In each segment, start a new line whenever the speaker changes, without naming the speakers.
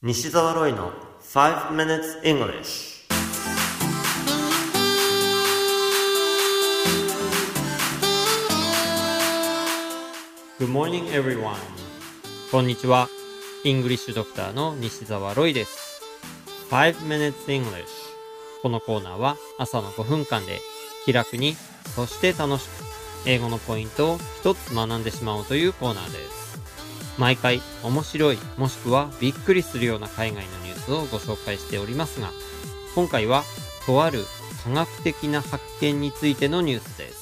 西澤ロイの5 minutes English。
Good morning everyone。 こんにちは。イングリッシュドクターの西澤ロイです。5 minutes English。 このコーナーは朝の5分間で気楽に、そして楽しく英語のポイントを一つ学んでしまおうというコーナーです。毎回面白いもしくはびっくりするような海外のニュースをご紹介しておりますが、今回はとある科学的な発見についてのニュースです。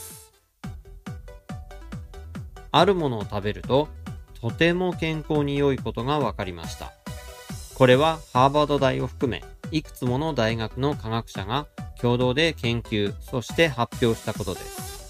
あるものを食べるととても健康に良いことが分かりました。これはハーバード大を含めいくつもの大学の科学者が共同で研究、そして発表したことです。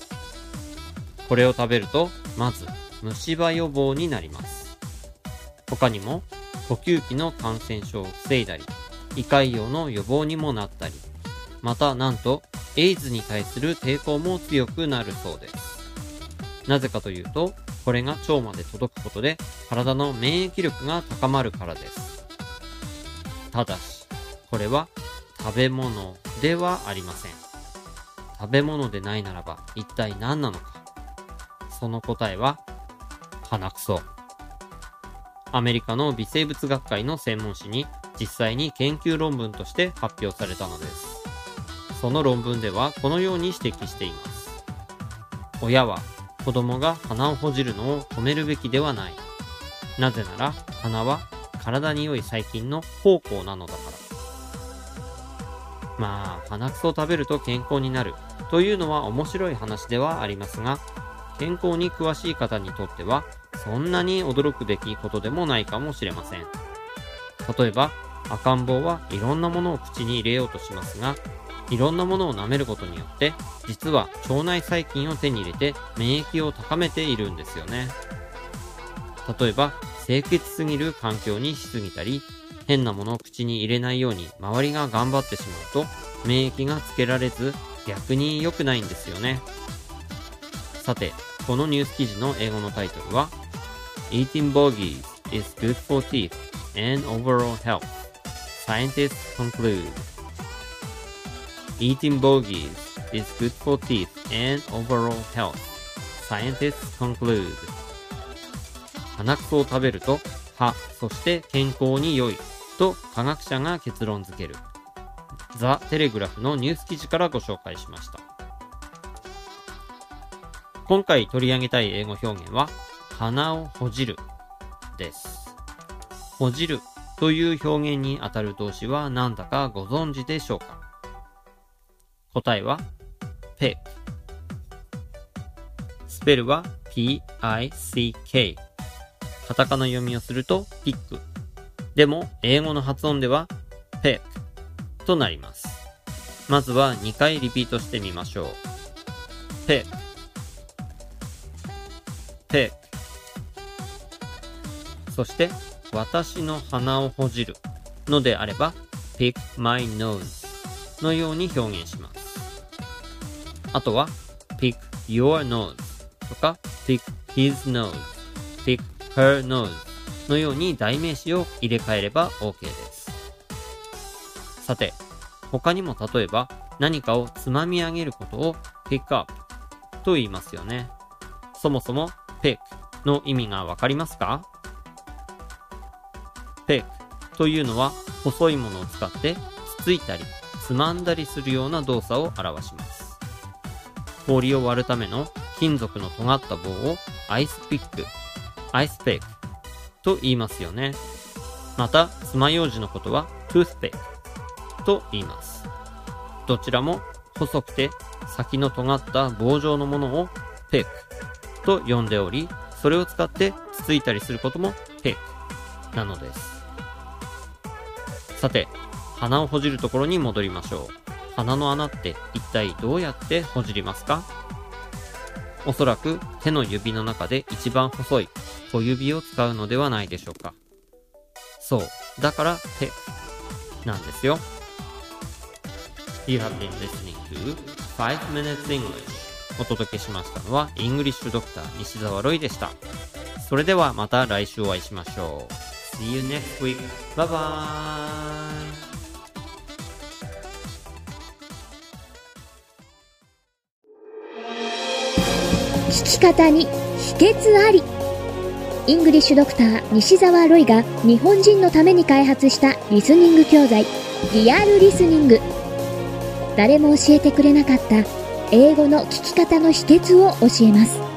これを食べるとまず虫歯予防になります。他にも呼吸器の感染症を防いだり、胃潰瘍の予防にもなったり、またなんとエイズに対する抵抗も強くなるそうです。なぜかというと、これが腸まで届くことで体の免疫力が高まるからです。ただし、これは食べ物ではありません。食べ物でないならば一体何なのか。その答えは鼻くそ。アメリカの微生物学会の専門誌に実際に研究論文として発表されたのです。その論文ではこのように指摘しています。親は子供が鼻をほじるのを止めるべきではない。なぜなら鼻は体に良い細菌の宝庫なのだから。まあ、鼻くそを食べると健康になるというのは面白い話ではありますが、健康に詳しい方にとってはそんなに驚くべきことでもないかもしれません。例えば赤ん坊はいろんなものを口に入れようとしますが、いろんなものを舐めることによって実は腸内細菌を手に入れて免疫を高めているんですよね。例えば清潔すぎる環境にしすぎたり、変なものを口に入れないように周りが頑張ってしまうと免疫がつけられず、逆に良くないんですよね。さて、このニュース記事の英語のタイトルは Eating bogies is good for teeth and overall health. Scientists conclude. Eating bogies is good for teeth and overall health. Scientists conclude. 鼻くそを食べると歯、そして健康に良いと科学者が結論付ける。ザ・テレグラフのニュース記事からご紹介しました。今回取り上げたい英語表現は鼻をほじるです。ほじるという表現にあたる動詞は何だかご存知でしょうか。答えは pick。 スペルは P-I-C-K。 カタカナ読みをするとピック。でも英語の発音では pick となります。まずは2回リピートしてみましょう。 pick pick。 そして私の鼻をほじるのであれば pick my nose のように表現します。あとは pick your nose とか pick his nose、 pick her nose のように代名詞を入れ替えれば OK です。さて、他にも例えば何かをつまみ上げることを pick up と言いますよね。そもそもpick の意味がわかりますか？ pick というのは細いものを使ってつついたりつまんだりするような動作を表します。氷を割るための金属の尖った棒をアイスピック、アイスペックと言いますよね。また爪楊枝のことはトゥースペックと言います。どちらも細くて先の尖った棒状のものをペックと呼んでおり、それを使ってつついたりすることもピックなのです。さて、鼻をほじるところに戻りましょう。鼻の穴って一体どうやってほじりますか？おそらく手の指の中で一番細い小指を使うのではないでしょうか。そう、だからピックなんですよ。You have been listening to 5 minutes English。お届けしましたのはイングリッシュドクター西澤ロイでした。それではまた来週お会いしましょう。
See you next week. Bye bye.
聞き方に秘訣あり。イングリッシュドクター西澤ロイが日本人のために開発したリスニング教材リアルリスニング。誰も教えてくれなかった英語の聞き方の秘訣を教えます。